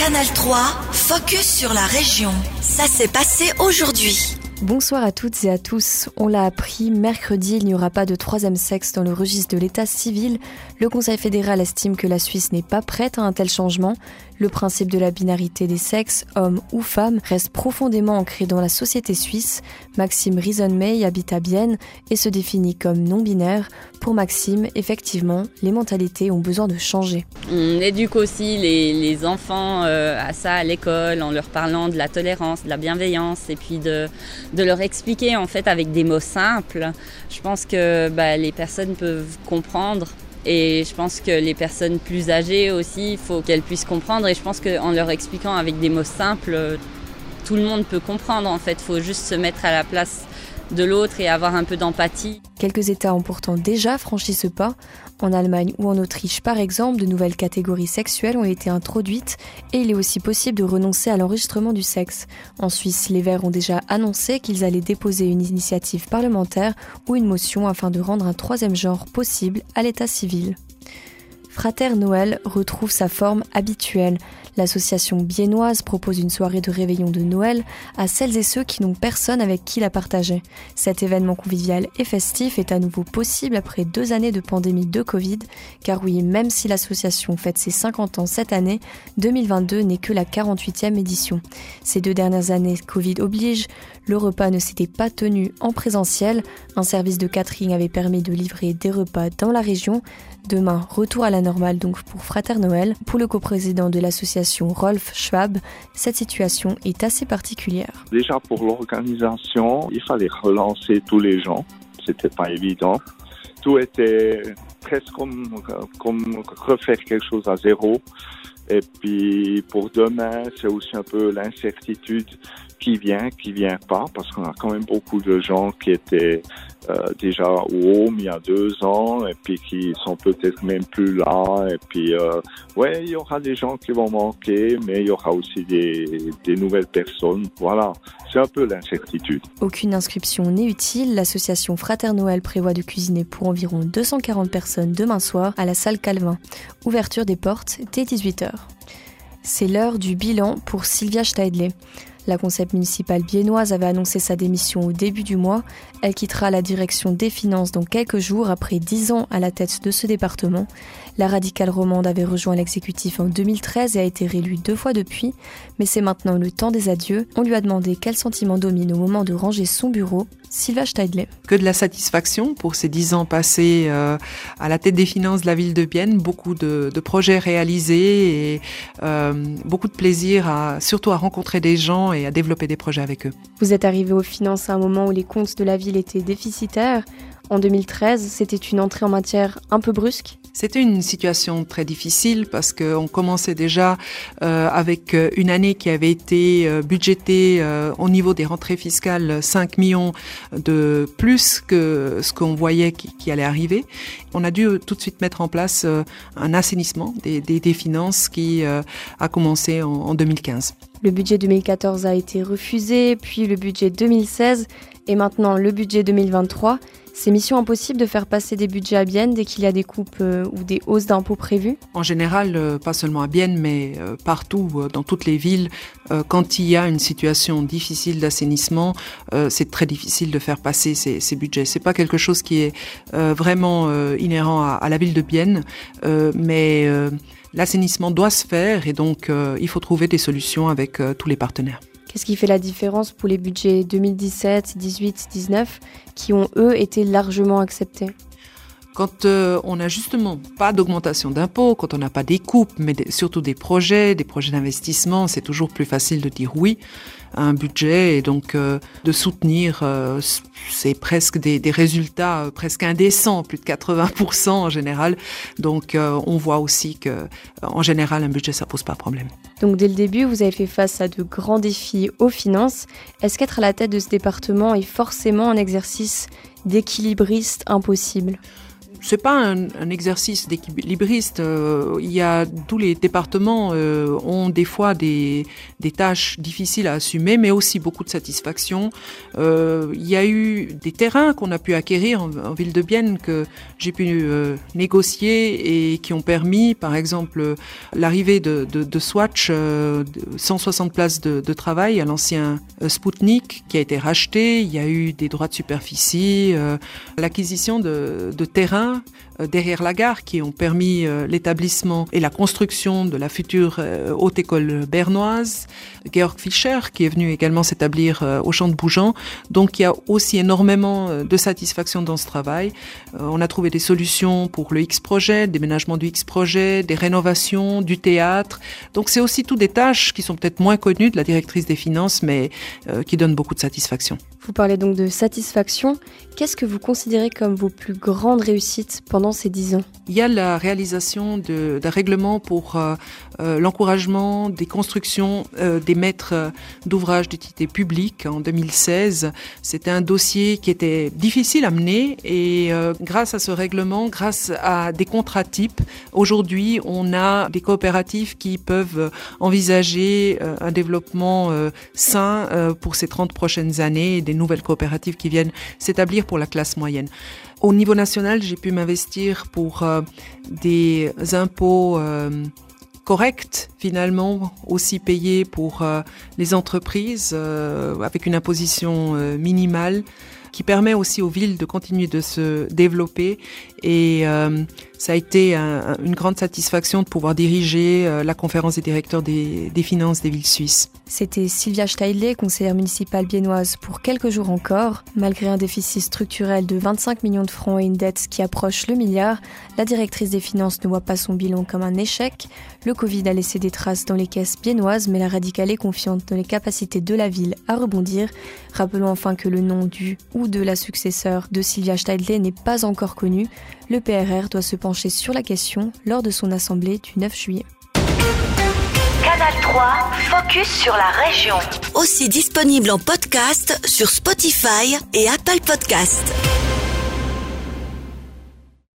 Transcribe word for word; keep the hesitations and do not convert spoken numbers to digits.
Canal trois, focus sur la région. Ça s'est passé aujourd'hui. Bonsoir à toutes et à tous. On l'a appris, mercredi, il n'y aura pas de troisième sexe dans le registre de l'état civil. Le Conseil fédéral estime que la Suisse n'est pas prête à un tel changement. Le principe de la binarité des sexes, homme ou femme, reste profondément ancré dans la société suisse. Maxime Rison-May habite à Bienne et se définit comme non-binaire. Pour Maxime, effectivement, les mentalités ont besoin de changer. On éduque aussi les, les enfants euh, à ça à l'école en leur parlant de la tolérance, de la bienveillance et puis de, de leur expliquer en fait avec des mots simples. Je pense que bah, les personnes peuvent comprendre. Et je pense que les personnes plus âgées aussi, il faut qu'elles puissent comprendre. Et je pense qu'en leur expliquant avec des mots simples, tout le monde peut comprendre. En fait, il faut juste se mettre à la place de l'autre et avoir un peu d'empathie. Quelques États ont pourtant déjà franchi ce pas. En Allemagne ou en Autriche, par exemple, de nouvelles catégories sexuelles ont été introduites et il est aussi possible de renoncer à l'enregistrement du sexe. En Suisse, les Verts ont déjà annoncé qu'ils allaient déposer une initiative parlementaire ou une motion afin de rendre un troisième genre possible à l'état civil. Frater Noël retrouve sa forme habituelle. L'association biennoise propose une soirée de réveillon de Noël à celles et ceux qui n'ont personne avec qui la partager. Cet événement convivial et festif est à nouveau possible après deux années de pandémie de Covid, car oui, même si l'association fête ses cinquante ans cette année, deux mille vingt-deux n'est que la quarante-huitième édition. Ces deux dernières années, Covid oblige, le repas ne s'était pas tenu en présentiel. Un service de catering avait permis de livrer des repas dans la région. Demain, retour à la normale donc pour Frater Noël. Pour le coprésident de l'association Rolf Schwab, cette situation est assez particulière. Déjà pour l'organisation, il fallait relancer tous les gens. C'était pas évident. Tout était presque comme, comme refaire quelque chose à zéro. Et puis pour demain, c'est aussi un peu l'incertitude qui vient, qui vient pas, parce qu'on a quand même beaucoup de gens qui étaient euh, déjà au home il y a deux ans et puis qui sont peut-être même plus là. Et puis euh, ouais, il y aura des gens qui vont manquer, mais il y aura aussi des, des nouvelles personnes. Voilà, c'est un peu l'incertitude. Aucune inscription n'est utile. L'association Frater Noël prévoit de cuisiner pour environ deux cent quarante personnes demain soir à la salle Calvin. Ouverture des portes dès dix-huit heures. C'est l'heure du bilan pour Sylvia Steidle. La conseillère municipale biennoise avait annoncé sa démission au début du mois. Elle quittera la direction des finances dans quelques jours après dix ans à la tête de ce département. La radicale romande avait rejoint l'exécutif en deux mille treize et a été réélue deux fois depuis. Mais c'est maintenant le temps des adieux. On lui a demandé quel sentiment domine au moment de ranger son bureau. Sylvia Steidle. Que de la satisfaction pour ces dix ans passés euh, à la tête des finances de la ville de Bienne. Beaucoup de, de projets réalisés et euh, beaucoup de plaisir à, surtout à rencontrer des gens et à développer des projets avec eux. Vous êtes arrivé aux finances à un moment où les comptes de la ville étaient déficitaires. En deux mille treize, c'était une entrée en matière un peu brusque. C'était une situation très difficile parce qu'on commençait déjà euh, avec une année qui avait été euh, budgétée euh, au niveau des rentrées fiscales cinq millions de plus que ce qu'on voyait qui, qui allait arriver. On a dû euh, tout de suite mettre en place euh, un assainissement des, des, des finances qui euh, a commencé en, en deux mille quinze. Le budget deux mille quatorze a été refusé, puis le budget deux mille seize et maintenant le budget deux mille vingt-trois. C'est mission impossible de faire passer des budgets à Bienne dès qu'il y a des coupes euh, ou des hausses d'impôts prévues ? En général, euh, pas seulement à Bienne, mais euh, partout, euh, dans toutes les villes, euh, quand il y a une situation difficile d'assainissement, euh, c'est très difficile de faire passer ces, ces budgets. C'est pas quelque chose qui est euh, vraiment euh, inhérent à, à la ville de Bienne, euh, mais euh, l'assainissement doit se faire et donc euh, il faut trouver des solutions avec euh, tous les partenaires. Qu'est-ce qui fait la différence pour les budgets deux mille dix-sept, dix-huit, dix-neuf qui ont, eux, été largement acceptés ? Quand euh, on n'a justement pas d'augmentation d'impôts, quand on n'a pas des coupes, mais des, surtout des projets, des projets d'investissement, c'est toujours plus facile de dire oui à un budget et donc euh, de soutenir, euh, c'est presque des, des résultats euh, presque indécents, plus de quatre-vingts pour cent en général. Donc euh, on voit aussi que, euh, en général, un budget, ça pose pas de problème. Donc dès le début, vous avez fait face à de grands défis aux finances. Est-ce qu'être à la tête de ce département est forcément un exercice d'équilibriste impossible ? c'est pas un, un exercice d'équilibriste. Euh, il y a tous les départements euh, ont des fois des, des tâches difficiles à assumer, mais aussi beaucoup de satisfaction. Euh, il y a eu des terrains qu'on a pu acquérir en, en ville de Bienne que j'ai pu euh, négocier et qui ont permis, par exemple, l'arrivée de, de, de Swatch, euh, cent soixante places de, de travail à l'ancien euh, Spoutnik qui a été racheté. Il y a eu des droits de superficie, euh, l'acquisition de, de terrains euh, derrière la gare qui ont permis euh, l'établissement et la construction de la future euh, haute école bernoise. Georg Fischer qui est venu également s'établir euh, au Champ de Bougeant. Donc il y a aussi énormément euh, de satisfaction dans ce travail. Euh, on a trouvé des solutions pour le X-Projet, le déménagement du X-Projet, des rénovations, du théâtre. Donc c'est aussi toutes des tâches qui sont peut-être moins connues de la directrice des finances, mais euh, qui donnent beaucoup de satisfaction. Vous parlez donc de satisfaction. Qu'est-ce que vous considérez comme vos plus grandes réussites pendant ces dix ans ? Il y a la réalisation de, d'un règlement pour euh, euh, l'encouragement des constructions euh, des maîtres d'ouvrage d'utilité publique en deux mille seize. C'était un dossier qui était difficile à mener et euh, grâce à ce règlement, grâce à des contrats types, aujourd'hui on a des coopératives qui peuvent envisager euh, un développement euh, sain euh, pour ces trente prochaines années et des nouvelles coopératives qui viennent s'établir pour la classe moyenne. Au niveau national, j'ai pu m'investir pour euh, des impôts euh, corrects, finalement, aussi payés pour euh, les entreprises, euh, avec une imposition euh, minimale, qui permet aussi aux villes de continuer de se développer. Et euh, ça a été un, une grande satisfaction de pouvoir diriger euh, la conférence des directeurs des, des finances des villes suisses. C'était Sylvia Steidle, conseillère municipale biennoise pour quelques jours encore. Malgré un déficit structurel de vingt-cinq millions de francs et une dette qui approche le milliard, la directrice des finances ne voit pas son bilan comme un échec. Le Covid a laissé des traces dans les caisses biennoises, mais la radicale est confiante dans les capacités de la ville à rebondir. Rappelons enfin que le nom du ou de la successeur de Sylvia Steidle n'est pas encore connu. Le P R R doit se pencher sur la question lors de son assemblée du neuf juillet. Canal trois, focus sur la région. Aussi disponible en podcast sur Spotify et Apple Podcasts.